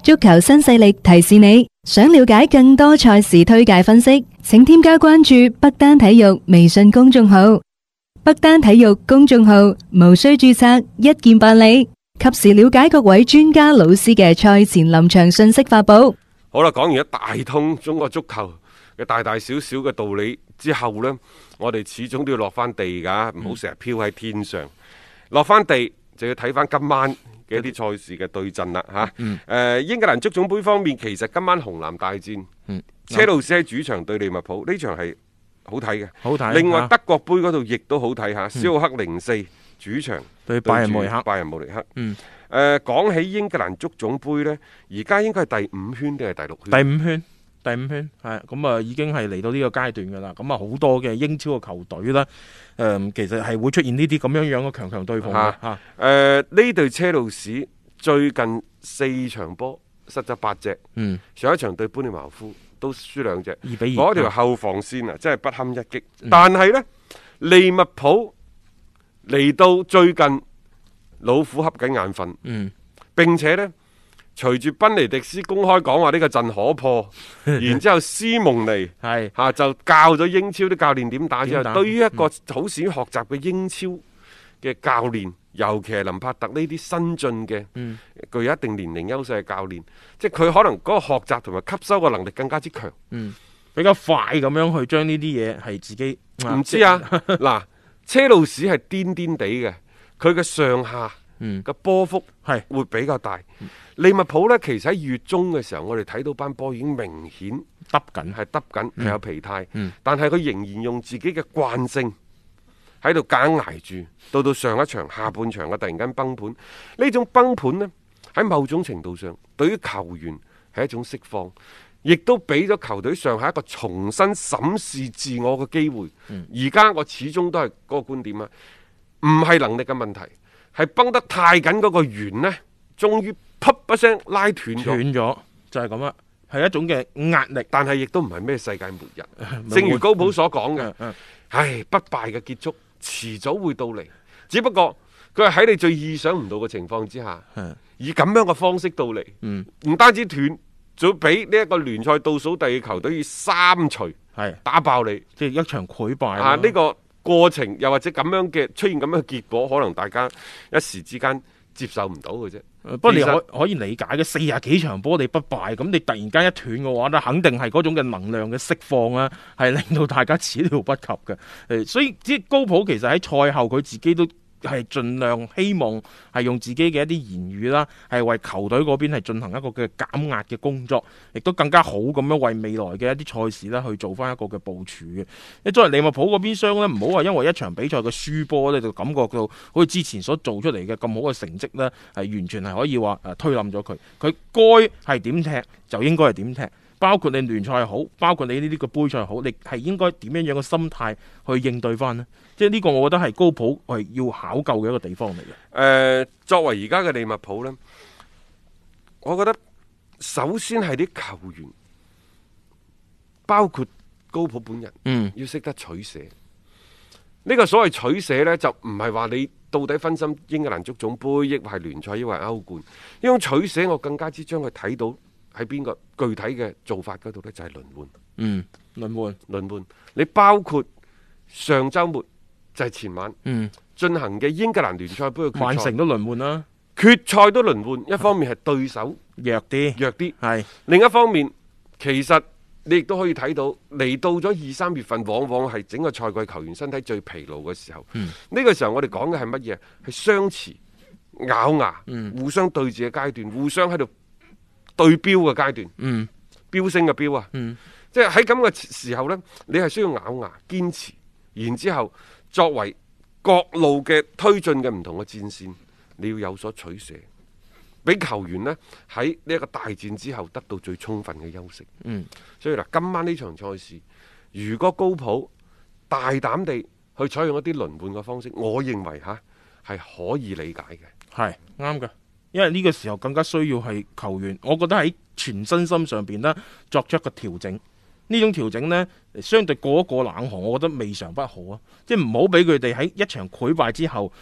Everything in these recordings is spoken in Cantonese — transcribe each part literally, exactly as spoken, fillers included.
足球新勢力提示你，想了解更多賽事推介分析，請添加關注北單體育微信公眾號。北單體育公眾號無需註冊，一鍵辦理，及時了解各位專家老師嘅賽前臨場信息發布。 好啦，講完一大通中國足球嘅大大小小嘅道理之後呢，我哋始終都要落翻地噶，唔好成日飄喺天上。落翻地就要睇翻今晚嘅一啲賽事嘅對陣啦嚇。誒、嗯呃，英格蘭足總杯方面，其實今晚紅藍大戰，嗯、車路士喺主場對利物浦，呢場係好睇嘅。好睇。另外德國杯嗰度亦都好睇嚇，肖克零四主場對拜仁慕尼克。拜仁慕尼克。嗯。誒、呃，講起英格蘭足總杯呢，而家應該係第五圈定係第六圈？第五圈。第五圈係咁啊，已經係嚟到呢個階段噶啦。咁啊，好多嘅英超嘅球隊啦，誒、呃，其實係會出現呢啲咁樣樣嘅強強對碰嘅吓。誒、啊，呢、呃、隊車路士最近四場波失咗八隻，嗯，上一場對般尼茅夫都輸兩隻，二比二。嗰條後防線啊，真係不堪一擊。嗯、但係呢，利物浦嚟到最近老虎瞌緊眼瞓，嗯，並且呢。隨住賓尼迪斯公開講話呢個陣可破，然之後斯蒙尼係吓就教咗英超啲教練點打之後，對於一個好善於學習嘅英超嘅教練，嗯、尤其係林柏特呢啲新進嘅，嗯、具有一定年齡優勢嘅教練，即係佢可能嗰個學習同埋吸收嘅能力更加之強，嗯，比較快咁樣去將呢啲嘢係自己唔知啊。嗱，車路士係癲癲地嘅，佢嘅上下嘅波幅係會比較大。嗯利物浦呢，其實喺月中嘅時候，我哋睇到班波已經明顯耷緊，係耷緊，係、嗯、有疲態。嗯、但係佢仍然用自己嘅慣性喺度夾硬捱住，到到上一場下半場嘅突然間崩盤。呢種崩盤呢，喺某種程度上，對於球員係一種釋放，亦都俾咗球隊上下一個重新審視自我嘅機會。而家、嗯、我始終都係嗰個觀點啊，唔係能力嘅問題，係崩得太緊嗰個弦呢，終於噗一聲拉斷咗，斷咗就係咁啦，係一種嘅壓力，但係亦都唔係咩世界末日。正如高普所講嘅，嗯嗯、唉，不敗嘅結束遲早會到嚟，只不過佢係喺你最意想唔到嘅情況之下，嗯、以咁樣嘅方式到嚟，唔、嗯、單止斷，仲要俾呢一個聯賽倒數第二球隊以三錘係打爆你，即係一場潰敗啊！呢、這個過程又或者咁樣嘅出現咁樣嘅結果，可能大家一時之間接受唔到嘅啫。不過你可可以理解嘅，四十幾場波你不敗，咁你突然間一斷嘅話咧，肯定係嗰種嘅能量嘅釋放啊，係令到大家始料不及嘅。誒，所以即係高普其實喺賽後佢自己都係盡量希望係用自己嘅一啲言語啦，係為球隊嗰邊係進行一個嘅減壓嘅工作，亦都更加好咁樣為未來嘅一啲賽事啦去做翻一個嘅部署嘅。你作為利物浦嗰邊廂咧，唔好話因為一場比賽嘅輸波咧，就感覺到好似之前所做出嚟嘅咁好嘅成績咧，係完全係可以話誒推冧咗佢。佢該係點踢就應該係點踢。包括你聯賽好，包括你呢啲個杯賽好，你係應該點樣樣嘅心態去應對翻呢？即係呢個，我覺得係高普係要考究嘅一個地方嚟嘅。誒、呃，作為而家嘅利物浦呢，我覺得首先係啲球員，包括高普本人，嗯，要識得取捨。呢、呢個所謂取捨呢，就唔係話你到底分心英格蘭足總杯，抑或係聯賽，抑或係歐冠。呢種取捨，我更加之將佢睇到。喺邊個具體嘅做法嗰度呢？就係輪換。嗯，輪換輪換。你包括上週末就係前晚，嗯，進行嘅英格蘭聯賽杯嘅決賽，曼城都輪換啦，決賽都輪換。一方面係對手弱啲，弱啲係；另一方面，其實你亦都可以睇到，嚟到咗二三月份，往往係整個賽季球員身體最疲勞嘅時候。嗯，呢個時候我哋講嘅係乜嘢？係相持、咬牙、嗯、互相對峙嘅階段，互相喺度。對標嘅階段，嗯，飆升嘅飆啊，嗯，即係喺咁嘅時候呢，你係需要咬牙堅持，然之後作為各路嘅推進嘅唔同嘅戰線，你要有所取捨，俾球員呢喺呢一個大戰之後得到最充分嘅休息，嗯，所以嗱，今晚呢場賽事，如果高普大膽地去採用一啲輪換嘅方式，我認為吓係可以理解嘅，係啱嘅。因為呢個時候更加需要係球員，我覺得喺全身心上邊呢作出一個調整。呢種調整呢，相對過一過冷河，我覺得未嘗不可啊！即係唔好俾佢哋喺一場潰敗之後，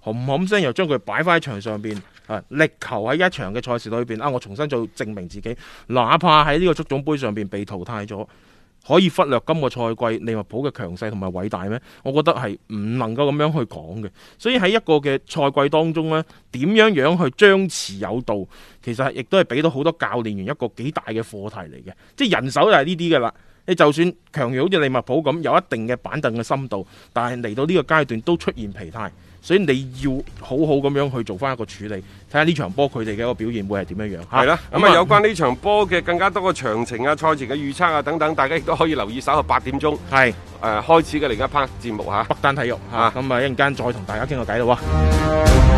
冚冚聲又將佢擺翻喺場上邊，啊，力求喺一場嘅賽事裏邊啊，我重新再證明自己，哪怕喺呢個足總杯上邊被淘汰咗，可以忽略今個賽季利物浦嘅強勢同埋偉大咩？我覺得係唔能夠咁樣去講嘅。所以喺一個嘅賽季當中呢，點樣樣去張弛有度，其實亦都係俾到好多教練員一個幾大嘅課題嚟嘅。即係人手就係呢啲噶啦。你就算強如好似利物浦咁有一定嘅板凳嘅深度，但係嚟到呢個階段都出現疲態，所以你要好好咁樣去做翻一個處理，睇下呢場波佢哋嘅一個表現會係點樣樣。 係啦，咁啊有關呢場波嘅更加多嘅詳情啊、賽前嘅預測啊等等，大家亦都可以留意稍後八點鐘係誒、呃、開始嘅另一 part 節目嚇， 北單體育嚇，咁啊一陣間再同大家傾個偈咯喎。